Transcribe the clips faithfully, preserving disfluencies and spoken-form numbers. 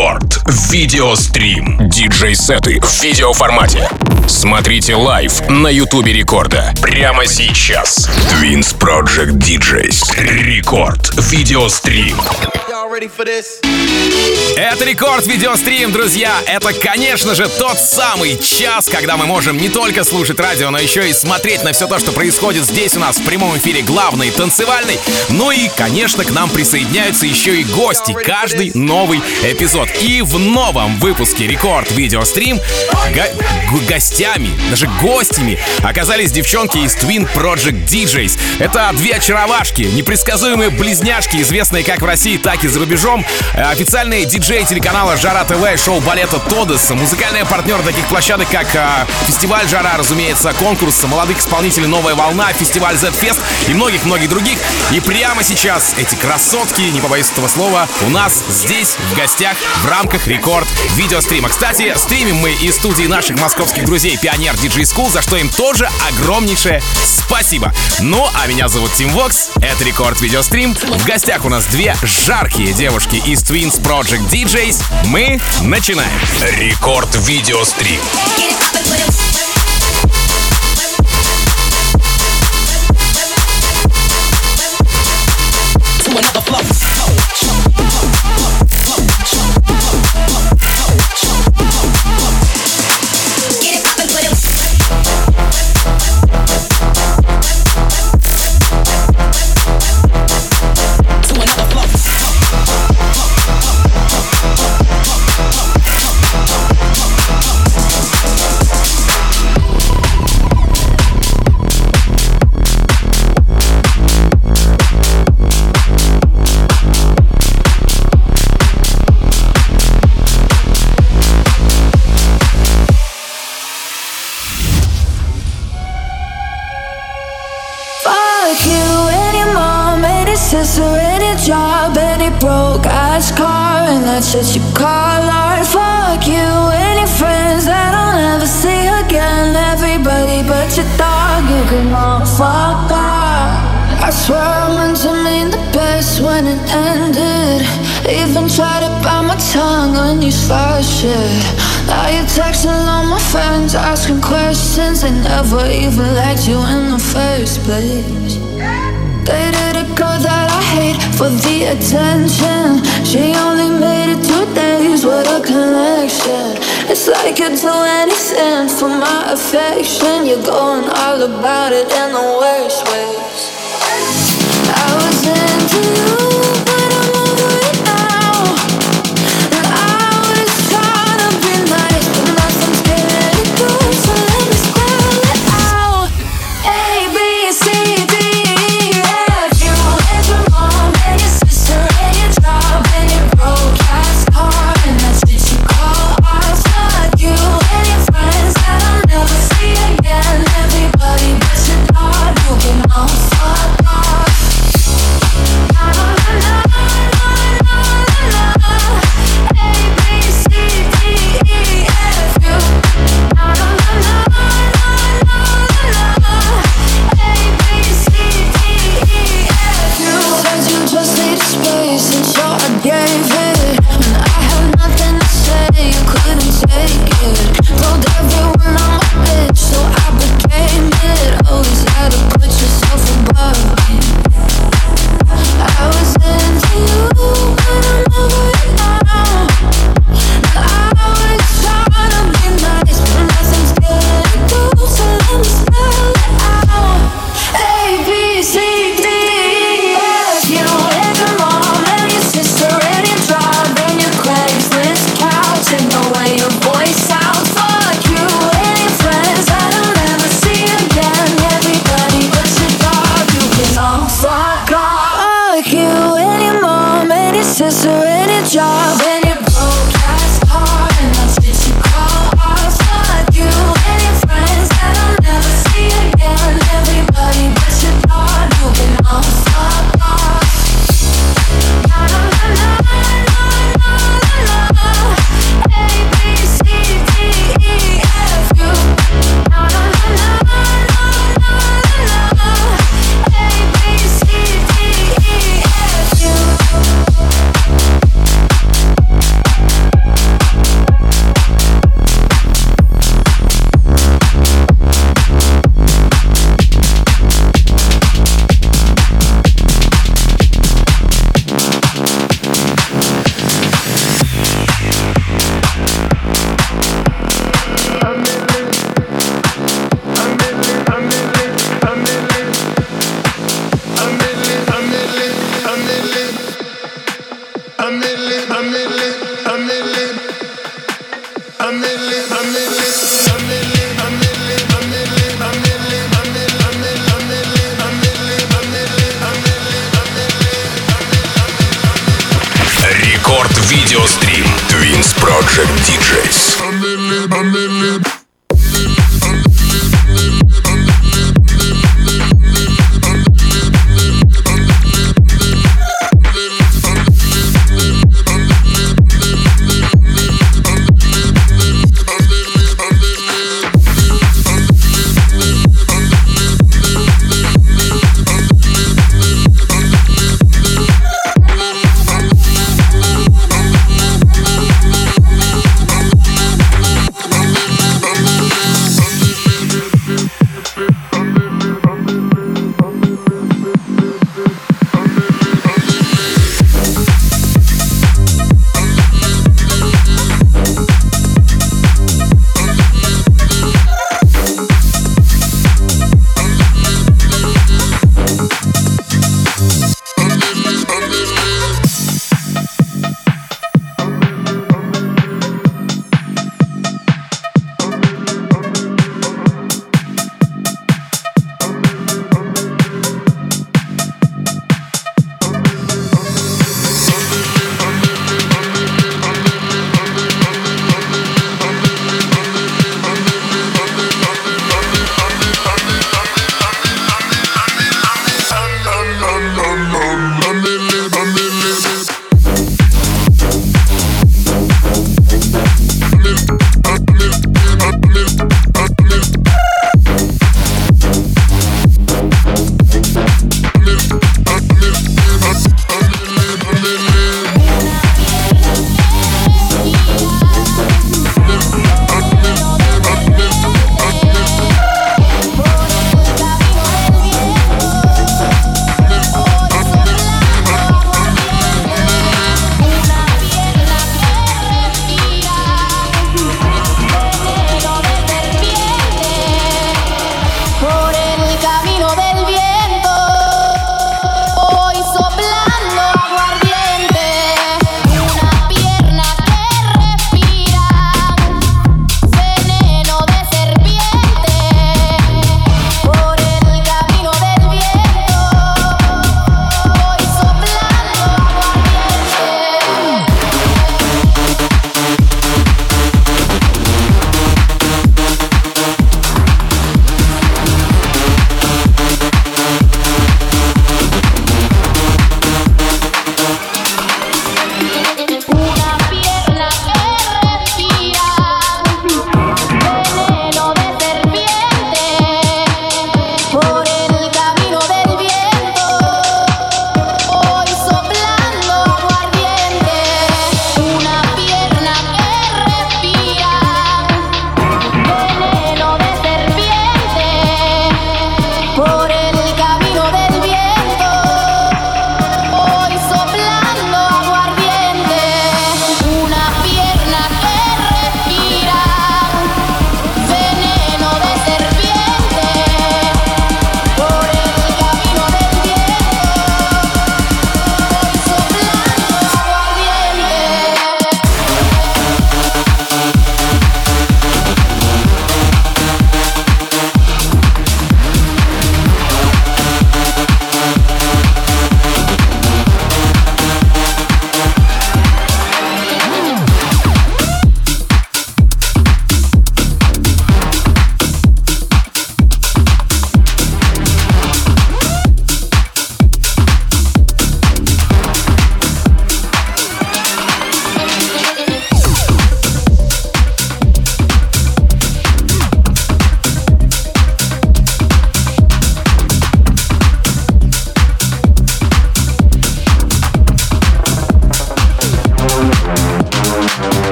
Рекорд. Видеострим. Диджей-сеты в видеоформате. Смотрите лайв на ютубе Рекорда. Прямо сейчас. Twins Project ди джейс. Рекорд. Видеострим. Это Рекорд Видеострим, друзья. Это, конечно же, тот самый час, когда мы можем не только слушать радио, но еще и смотреть на все то, что происходит здесь у нас в прямом эфире главный танцевальный. Ну и, конечно, к нам присоединяются еще и гости. Каждый новый эпизод. И в новом выпуске Рекорд Видеострим го- гостями, даже гостями оказались девчонки из Twins Project ди джейс. Это две очаровашки, непредсказуемые близняшки, известные как в России, так и за рубежом. Официальные диджеи телеканала Жара ТВ, шоу балета Тодес, музыкальные партнеры таких площадок, как а, фестиваль Жара, разумеется, конкурс молодых исполнителей Новая волна, фестиваль Z-Fest и многих-многих других. И прямо сейчас эти красотки, не побоюсь этого слова, у нас здесь в гостях в рамках Рекорд Видеострима. Кстати, стримим мы из студии наших московских друзей Pioneer ди джей School, за что им тоже огромнейшее спасибо. Ну, а меня зовут Тим Вокс, это Рекорд Видеострим. В гостях у нас две жаркие девушки из Twins Project ди джейс. Мы начинаем. Рекорд Видеострим. Job, any broke ass car, and that's what you call art. Fuck you, any friends that I'll never see again. Everybody but your dog, you can all fuck off. I swear I meant to mean the best when it ended. Even tried to bite my tongue when you started shit. Now you're texting all my friends, asking questions. They never even liked you in the first place. Dated a girl that I hate for the attention. She only made it two days with a connection. It's like you'd do anything for my affection. You're going all about it in the worst ways. I was into you, but I'm over it now. And I was trying to be nice, but nothing's getting it through. So let me spell it out. A, B, C, D. Everybody but your dog, you can all fuck off. Видеострим. Twins Project ди джейс.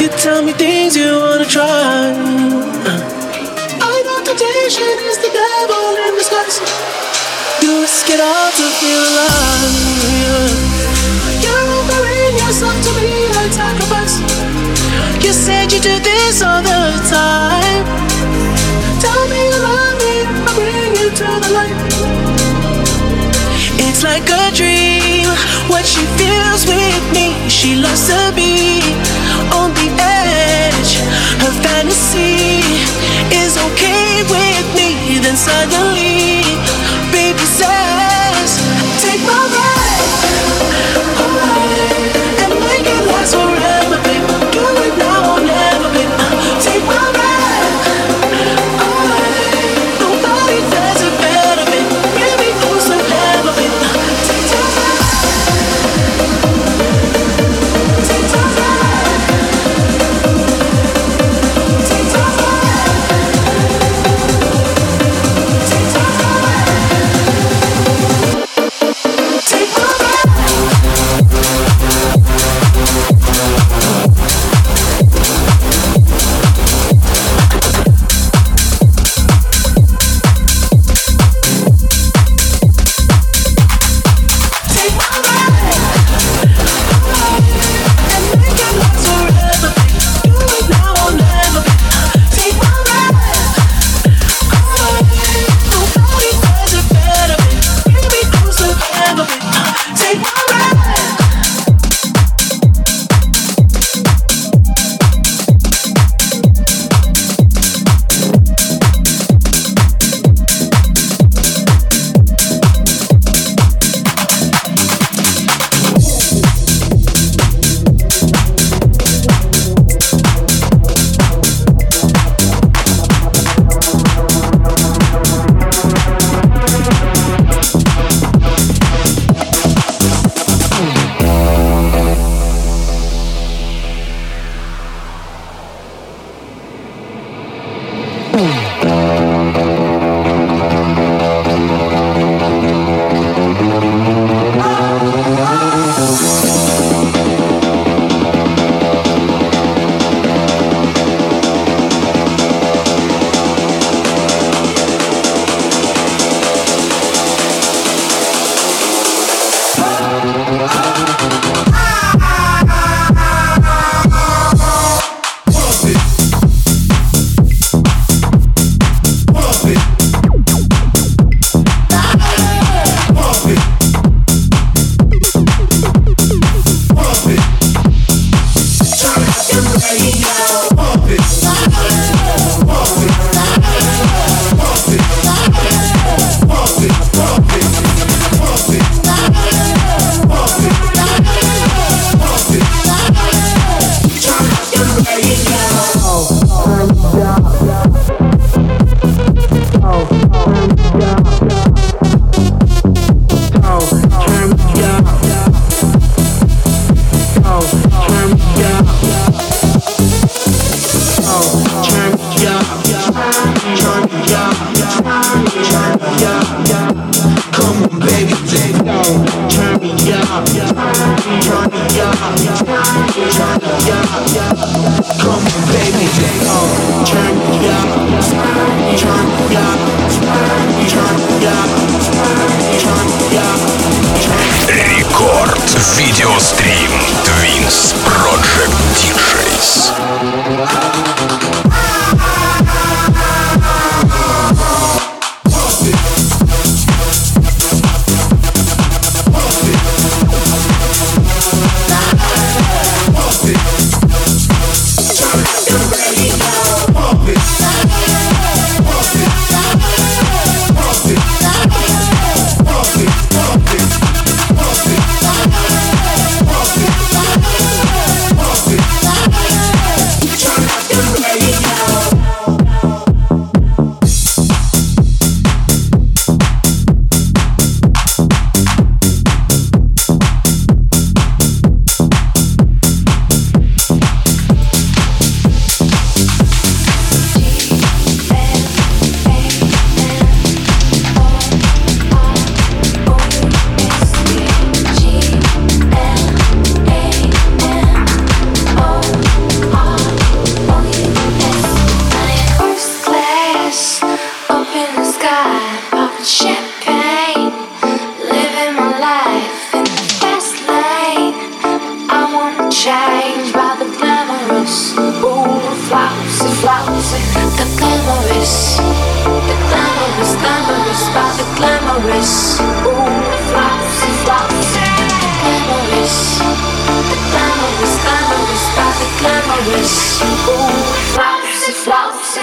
tell me things you wanna try. I know temptation is the devil in disguise. You risk it all to feel alive. You're offering yourself to me like sacrifice. You said you do this all the time. Tell me you love me, I'll bring you to the light. It's like a dream, what she feels with me. She loves to be on the edge. Her fantasy is okay with me. Then suddenly, baby says, take my breath away and make it last forever, baby. Do it now or never, baby. Take my breath away. Nobody does it better, baby. Bring me closer, never, baby. Take my breath. Take my breath. Take my breath. Take my breath. Рекорд видеострим Twins Project ди джейс. Ready. flouncy, flouncy. The glamorous, the glamorous, glamorous, about the glamorous. Ooh, flouncy, flouncy. The glamorous, the glamorous, glamorous, about the glamorous. Ooh, flouncy, flouncy.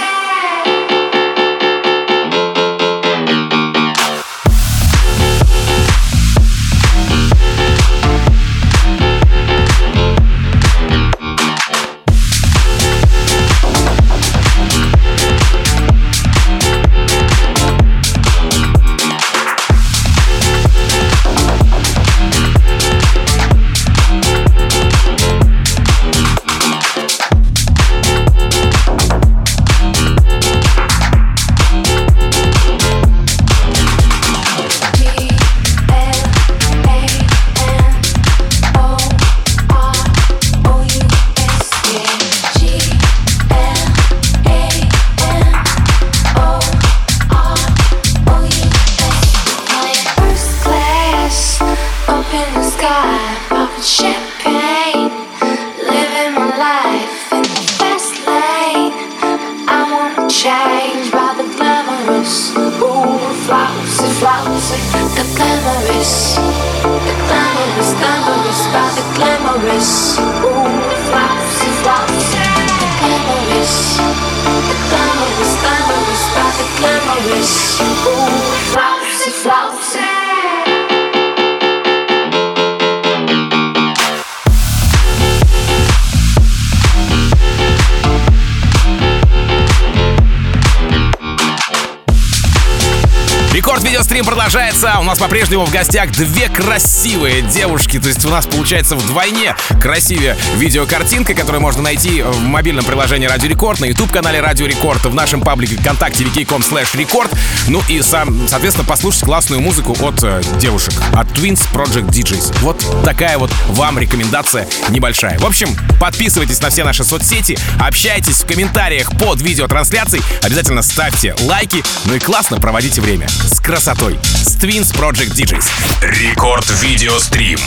Видеострим продолжается. У нас по-прежнему в гостях две красивые девушки. То есть у нас получается вдвойне красивее видеокартинка, которую можно найти в мобильном приложении Радио Рекорд, на YouTube-канале Радио Рекорд, в нашем паблике ВКонтакте ви кей точка ком слэш рекорд. Ну и, сам, соответственно, послушать классную музыку от э, девушек, от Twins Project ди джейс. Вот такая вот вам рекомендация небольшая. В общем, подписывайтесь на все наши соцсети, общайтесь в комментариях под видеотрансляцией, обязательно ставьте лайки, ну и классно проводите время с красотой, с Twins Project ди джейс. Рекорд Видеострим.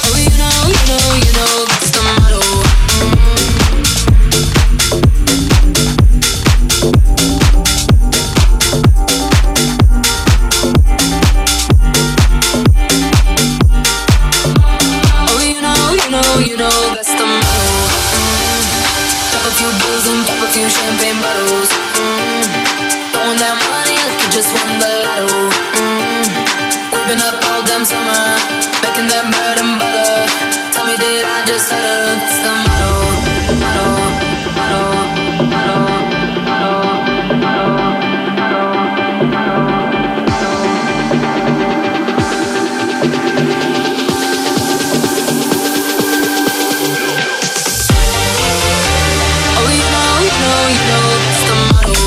Champagne bottles, mm. Throwing that money like you just won the lotto. Mm. Whipping up all damn summer, making that bread and butter. Tell me, did I just utter? It's the motto, motto, motto, motto, motto, motto, Oh, you know, you know, you know, it's the motto.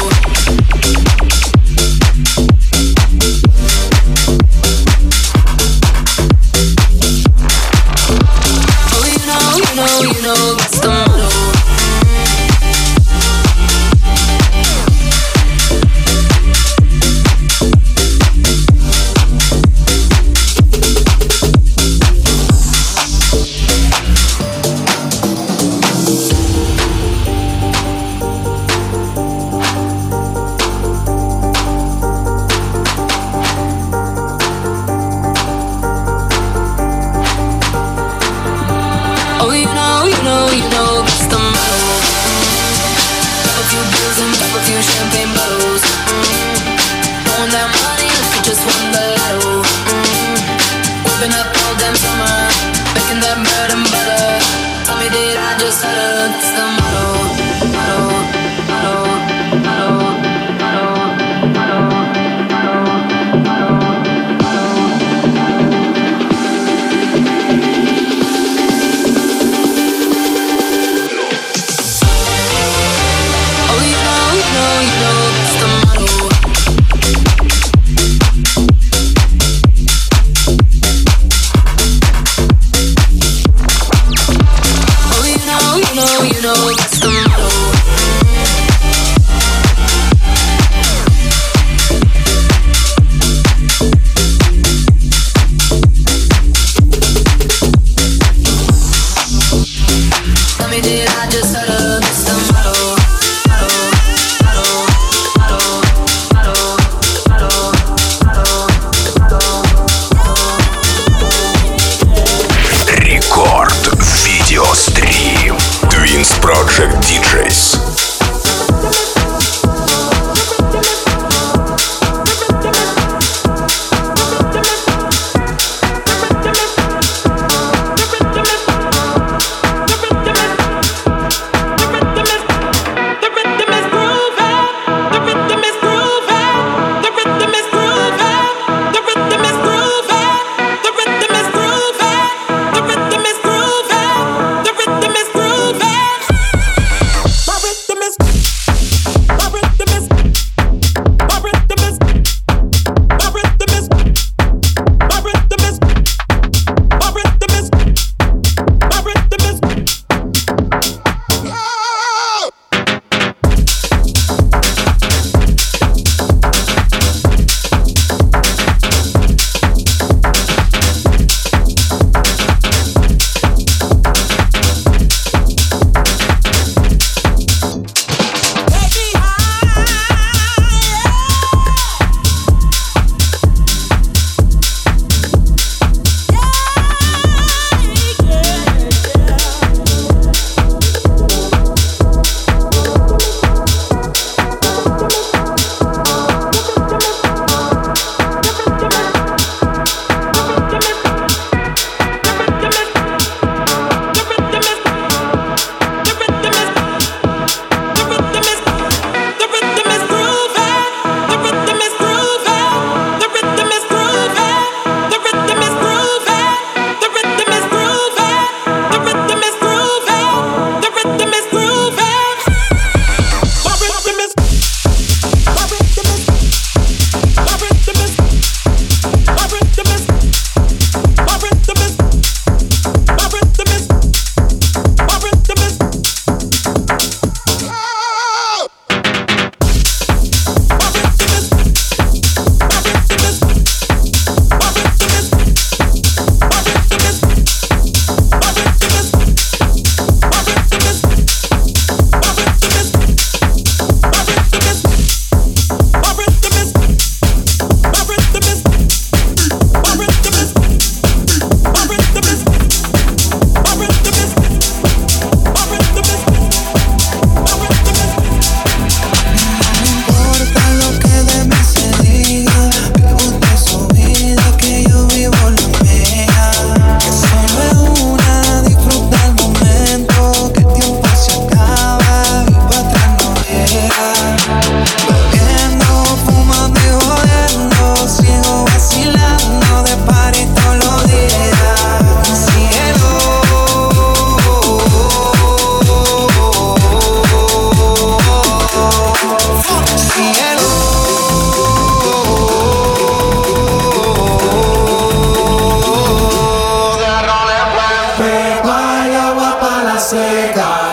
Oh, you know, you know, you know, it's the motto. Oh, you know, you know, you know, it's the motto. Pop a few bills and pop a few champagne bottles. Mm. Throwing that money like you just won the lotto. Mm. Whipping up all damn summer, making that bread and butter. Tell me, did I just utter? It's the motto, motto, motto, motto, motto, motto, Oh, you know, you know, you know, it's the motto. Oh, you know, you know, you know, it's the motto.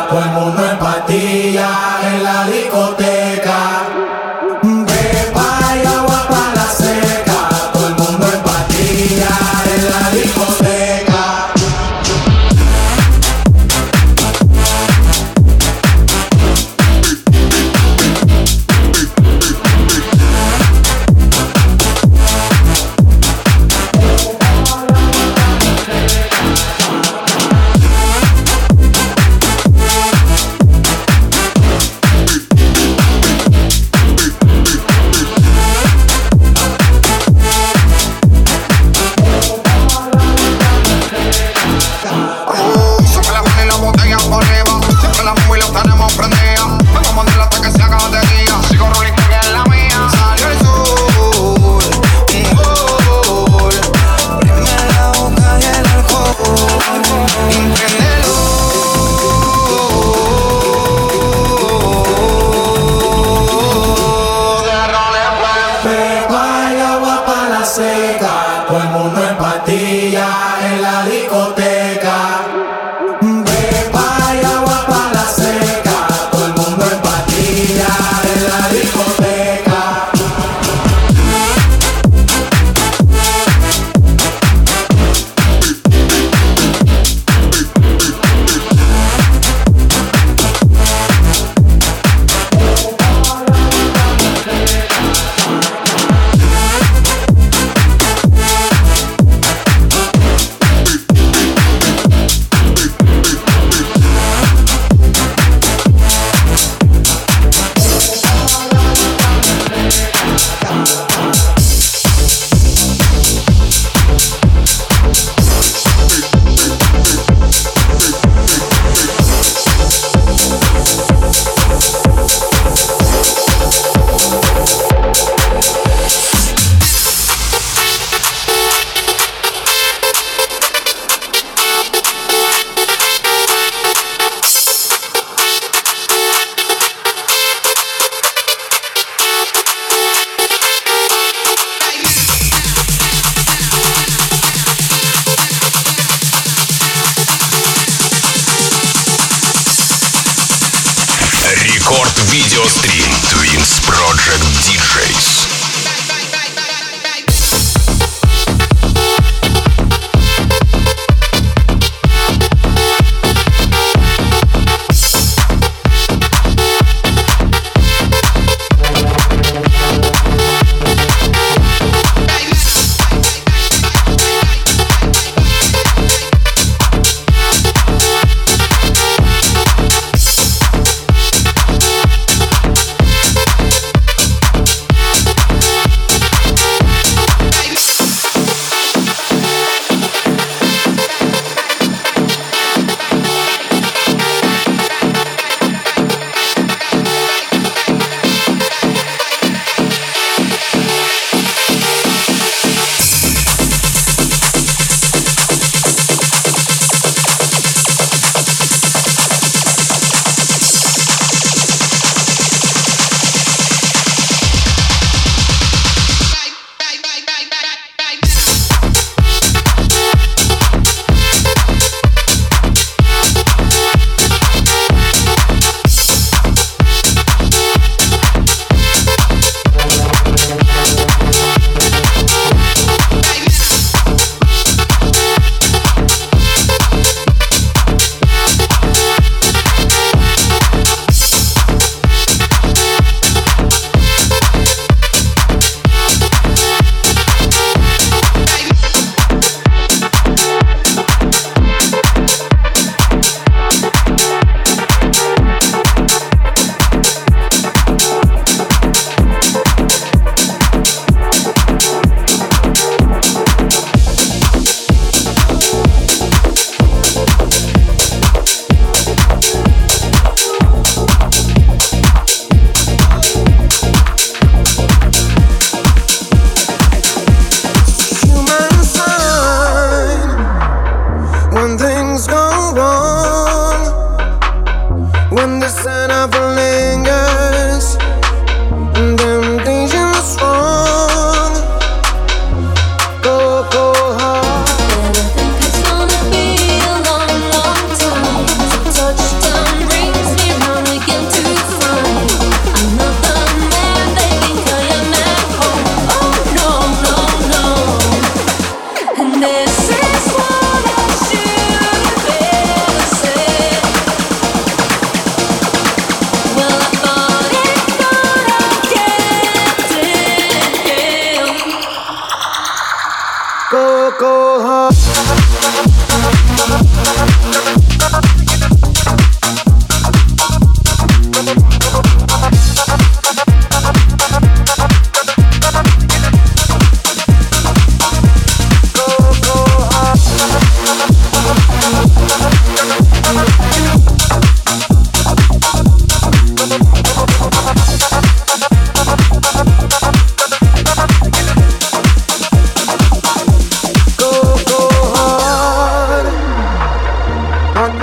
todo el mundo en pastillas en la discoteca. Pepa y agua para la seca, todo el mundo en pastillas en la discoteca. Todo el mundo en pastillas en la discoteca. Pepa y agua para la seca, todo el mundo en pastillas en la discoteca. Рекорд видеострим Twins Project ди джейс.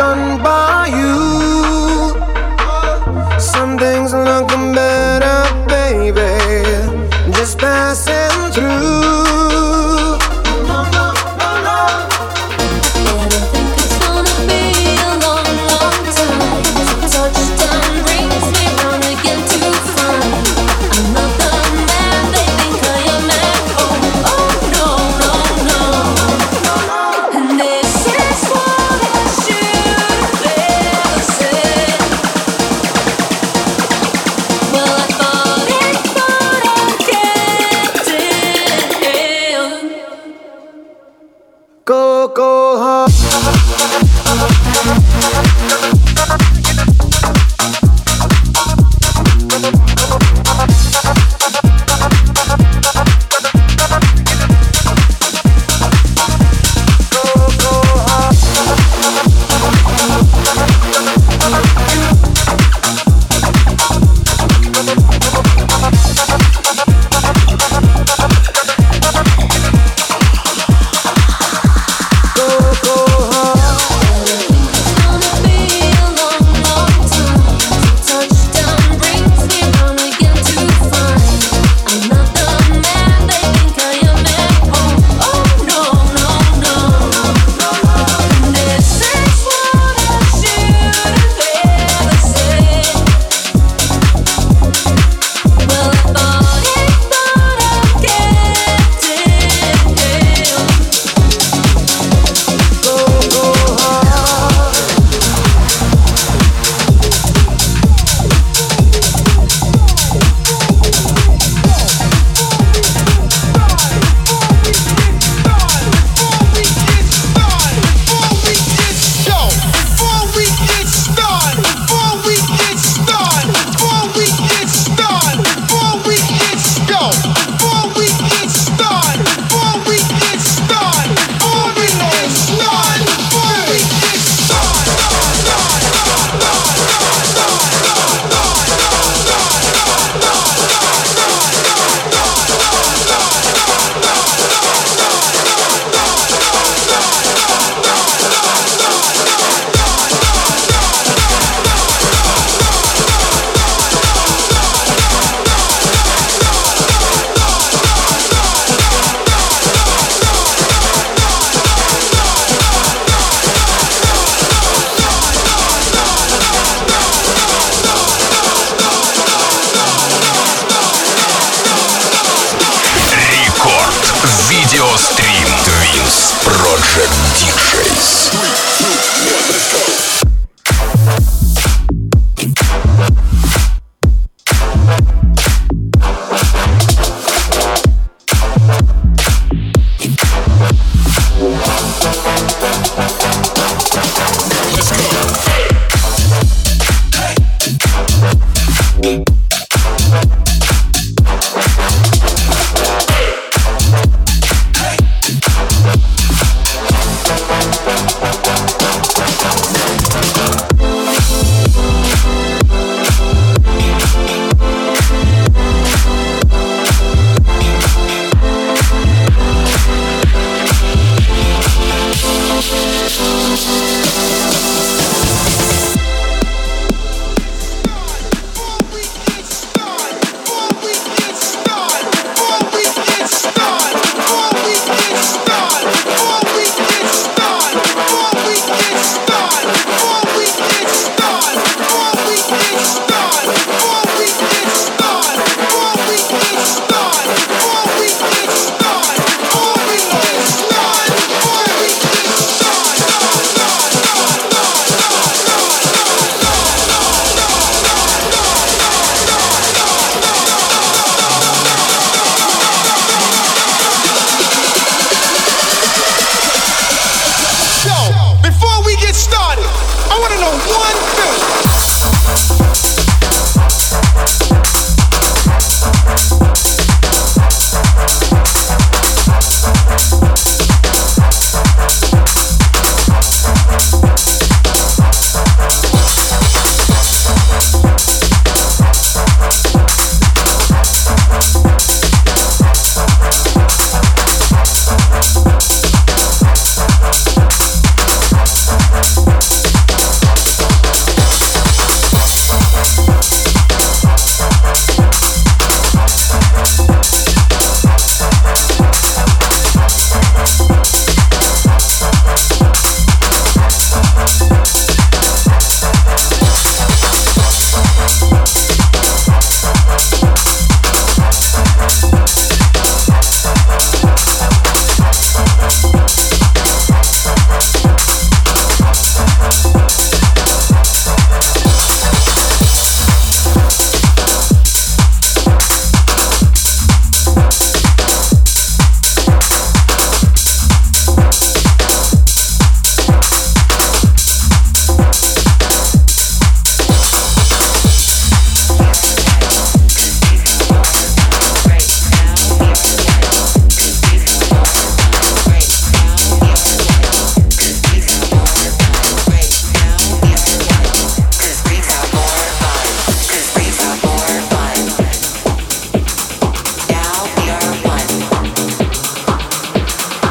done by you. Some things looking better, baby, just passing through. And this is what I should live.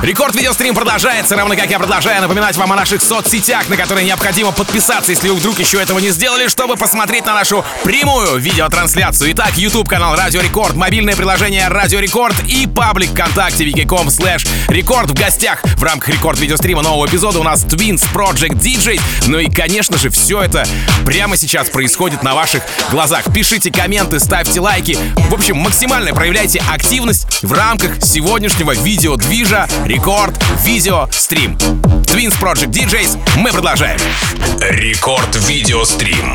Рекорд видеострим продолжается, равно как я продолжаю напоминать вам о наших соцсетях, на которые необходимо подписаться, если вы вдруг еще этого не сделали, чтобы посмотреть на нашу прямую видеотрансляцию. Итак, YouTube-канал Радио Рекорд, мобильное приложение Радио Рекорд и паблик ВКонтакте wiki.com slash рекорд. В гостях в рамках рекорд видеострима нового эпизода у нас Twins Project ди джей. Ну и, конечно же, все это прямо сейчас происходит на ваших глазах. Пишите комменты, ставьте лайки. В общем, максимально проявляйте активность в рамках сегодняшнего видеодвижа Рекорд Видео Стрим. Twins Project ди джей, мы продолжаем. Рекорд Видео Стрим.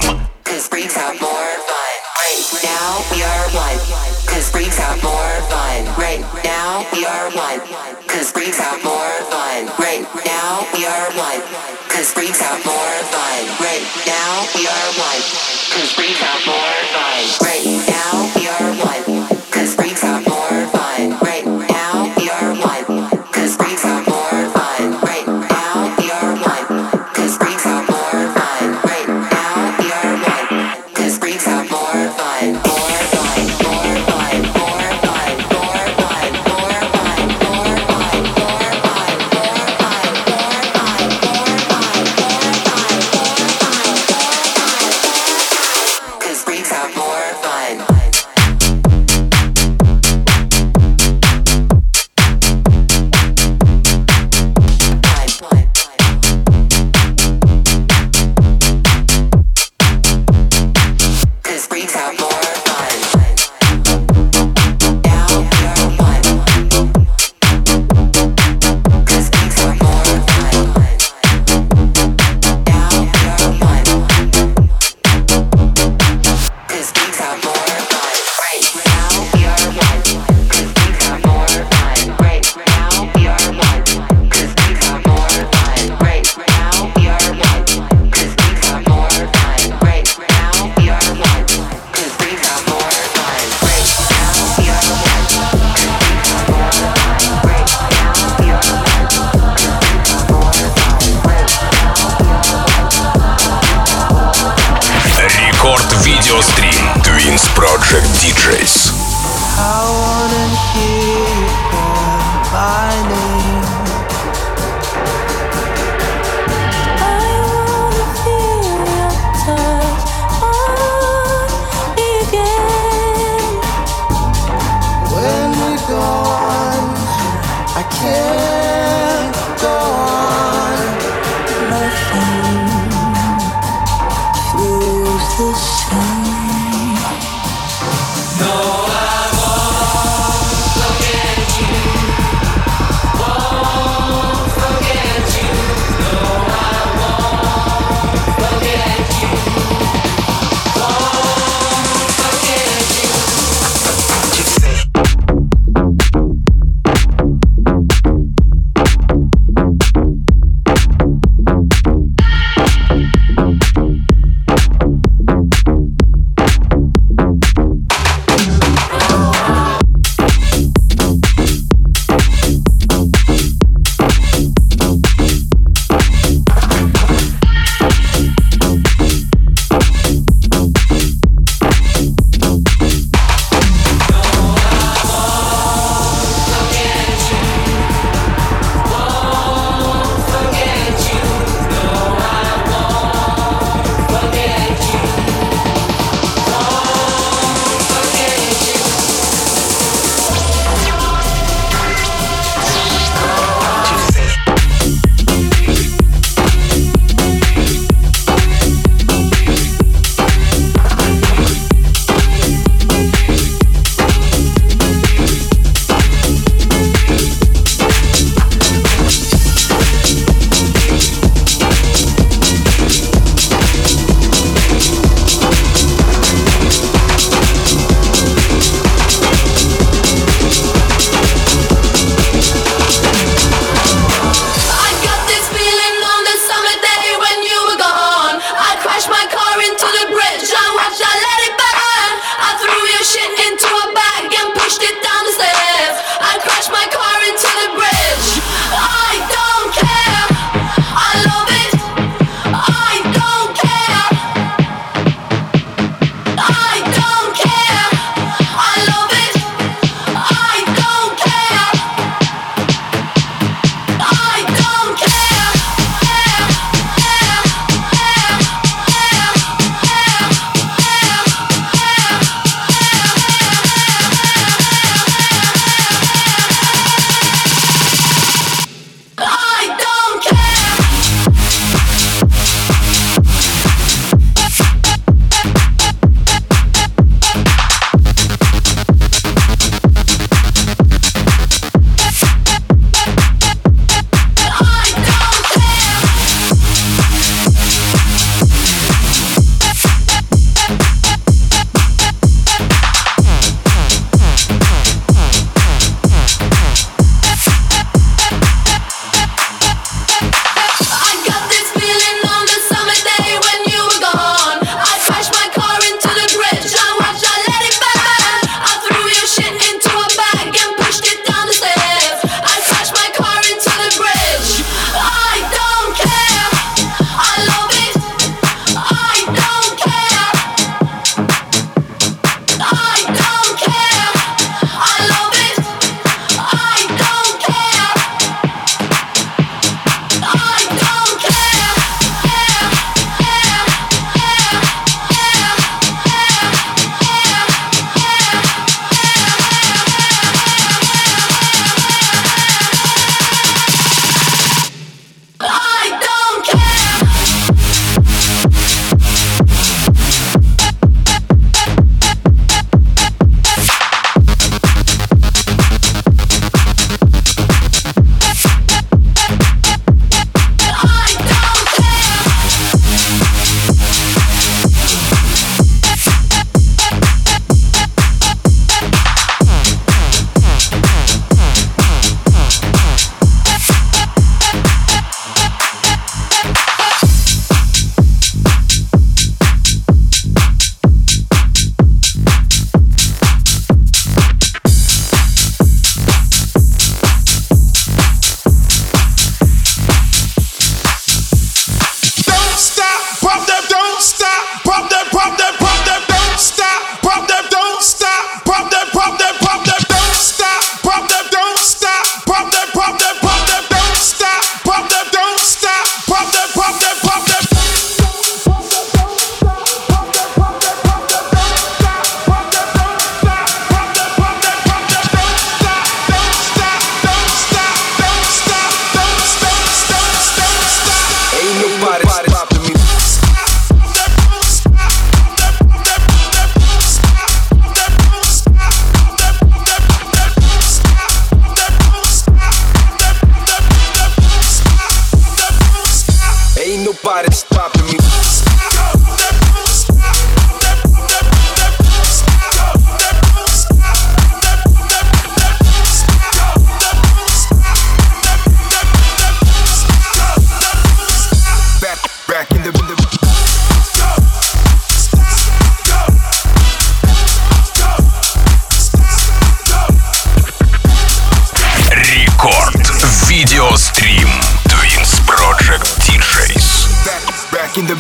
Видеострим Twins Project ди джей. I wanna hear you call my name. I wanna feel your touch on me again. When you're gone, I can't go on. Nothing feels the same. No, I won't forget.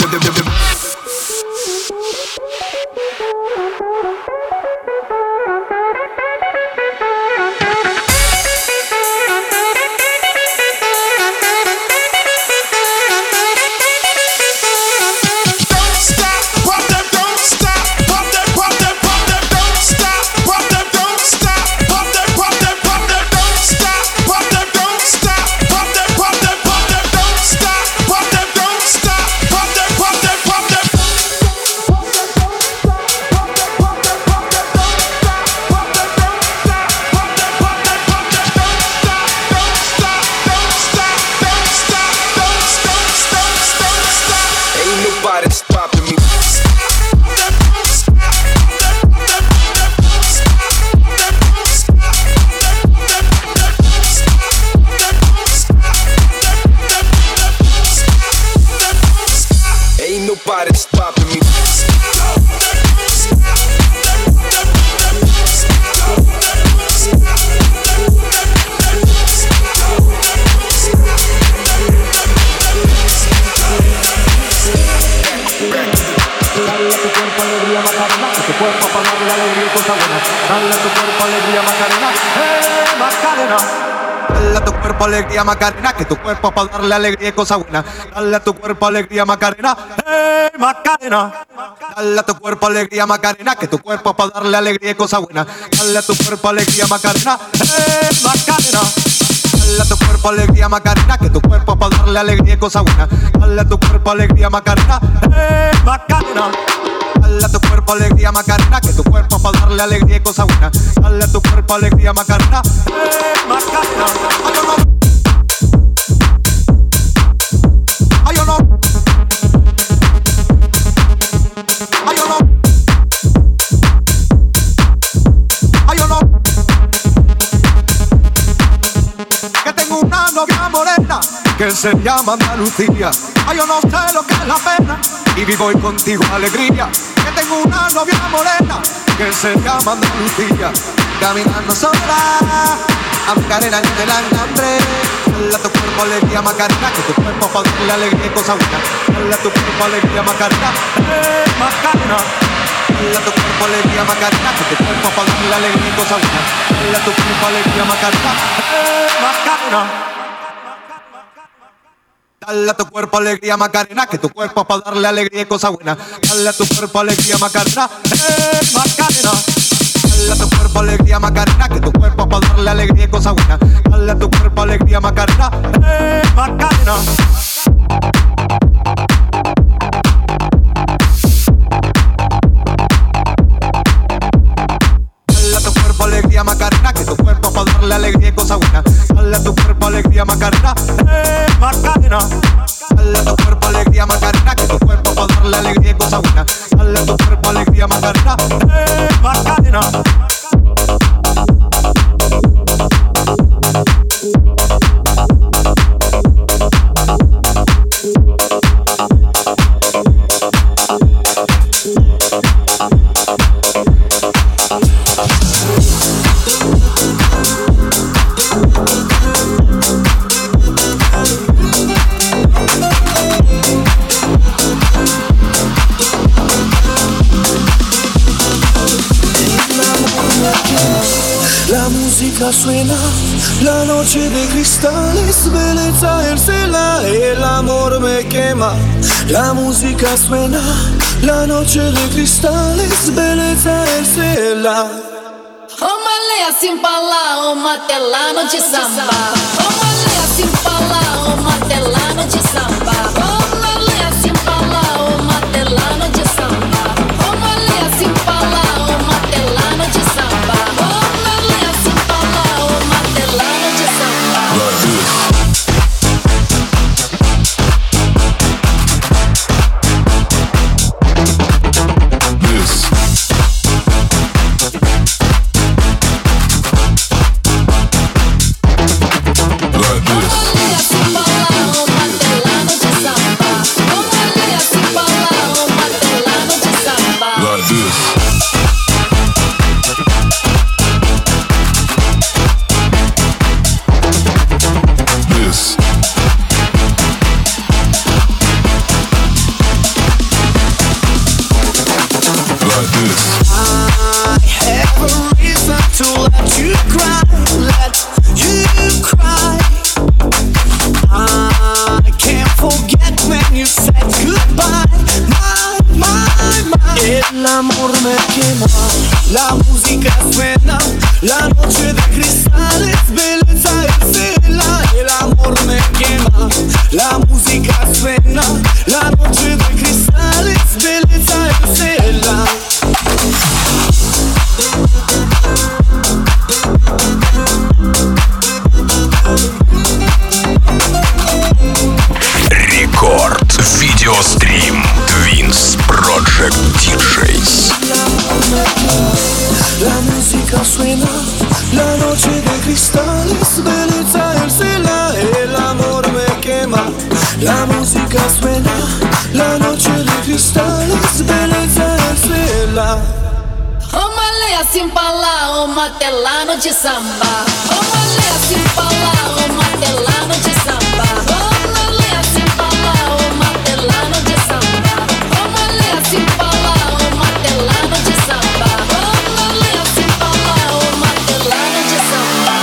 Alegría Macarena, que tu cuerpo para darle alegría y cosa buena. Dale a tu cuerpo alegría Macarena, eh Macarena. Dale a tu cuerpo alegría Macarena, que tu cuerpo para darle alegría y cosa buena. Dale a tu cuerpo alegría Macarena, eh Macarena. Dale a tu cuerpo alegría Macarena, que tu cuerpo para darle alegría y cosa buena. Dale a tu cuerpo alegría Macarena, eh Macarena. Dale a tu cuerpo alegría Macarena, que tu cuerpo para darle alegría y cosa buena. Dale a tu cuerpo alegría Macarena, eh Macarena. Ay, yo no. Ay, yo no. Ay, yo no. Que tengo una novia morena que se llama Andalucía. Ay, yo no sé lo que es la pena y vivo hoy contigo alegría. Que tengo una novia morena que se llama Andalucía. Caminando sola a Macarena en el hambre. Dale a tu cuerpo alegría Macarena, que tu cuerpo para darle alegría y cosa buena. Dale a tu cuerpo alegría Macarena, eh Macarena. Dale a tu cuerpo alegría Macarena, que tu cuerpo para darle alegría y cosa buena. Dale a tu cuerpo alegría Macarena, eh Macarena. Dale a tu cuerpo alegría Macarena, que tu cuerpo para darle alegría y cosa buena. Dale a tu cuerpo alegría Macarena, eh Macarena. Dale a tu cuerpo alegría Macarena, que tu cuerpo para darle alegría y cosa buena. Dale a tu cuerpo alegría Macarena, eh Macarena. Dale a tu cuerpo alegría Macarena, que tu cuerpo para darle alegría y cosa buena. Dale a tu cuerpo alegría Macarena, eh Macarena. Dale a tu cuerpo alegría Macarena, que tu cuerpo para darle alegría y cosa buena. Dale a tu cuerpo alegría Macarena, eh Macarena. La música suena, la noche de cristales, belleza el cela, el amor me quema. La música suena, la noche de cristales, belleza el cela. Ô Malé, assim pra lá, ô matelano de samba. Ô Malé, assim pra lá, ô matelano de samba. Ô Malé, assim pra lá, ô matelano de samba. Ô Malé, assim pra lá, ô matelano de samba. Ô Malé, assim pra lá, ô matelano de samba. Like this. Assim pra lá, ô matelano. I have a reason to let you cry, let you cry. I can't forget when you said goodbye. My, my, my. El amor me quema, la música suena, la noche de cristales, belleza escena. El amor me quema, la música suena, la noche de cristales, belleza escena. Рекорд. Видеострим. Twins Project ди джейс. La música suena, la noche de cristales, belleza el cielo, el amor me quema. La música suena, la noche de cristales, belleza el cielo. Uma leia assim pra lá, uma telano de samba. Uma leia assim pra lá, uma telano de samba. Uma leia assim pra lá, uma telano de samba. Uma leia assim pra lá, uma telano de samba. Uma leia assim pra lá, uma telano de samba.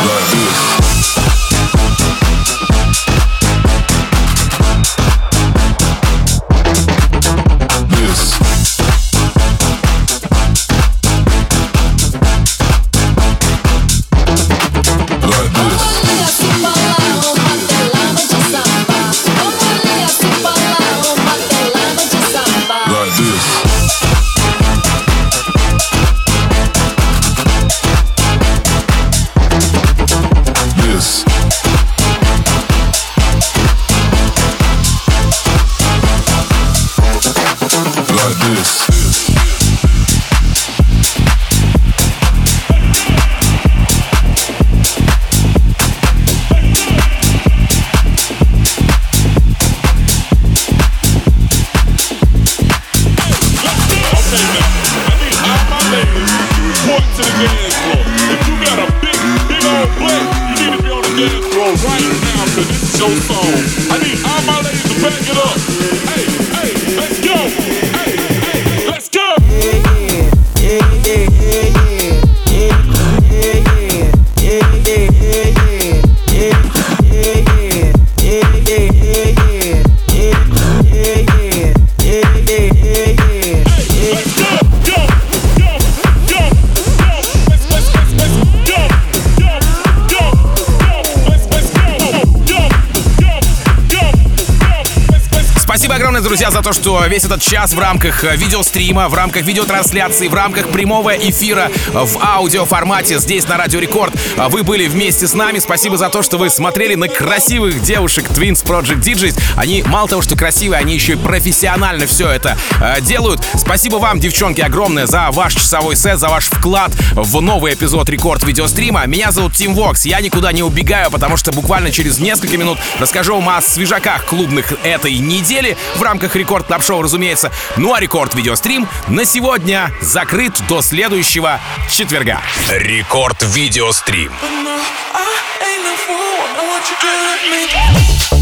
Друзья, за то, что весь этот час в рамках видеострима, в рамках видеотрансляции, в рамках прямого эфира в аудиоформате здесь на Радио Рекорд вы были вместе с нами. Спасибо за то, что вы смотрели на красивых девушек Twins Project ди джейс. Они мало того, что красивые, они еще и профессионально все это э, делают. Спасибо вам, девчонки, огромное за ваш часовой сет, за ваш вклад в новый эпизод Рекорд видеострима. Меня зовут Тим Вокс. Я никуда не убегаю, потому что буквально через несколько минут расскажу вам о свежаках клубных этой недели в рамках Рекорд Клаб Шоу, разумеется. Ну а Рекорд видеострим на сегодня закрыт до следующего четверга. Рекорд видеострим. I ain't no fool, I know what you do to me.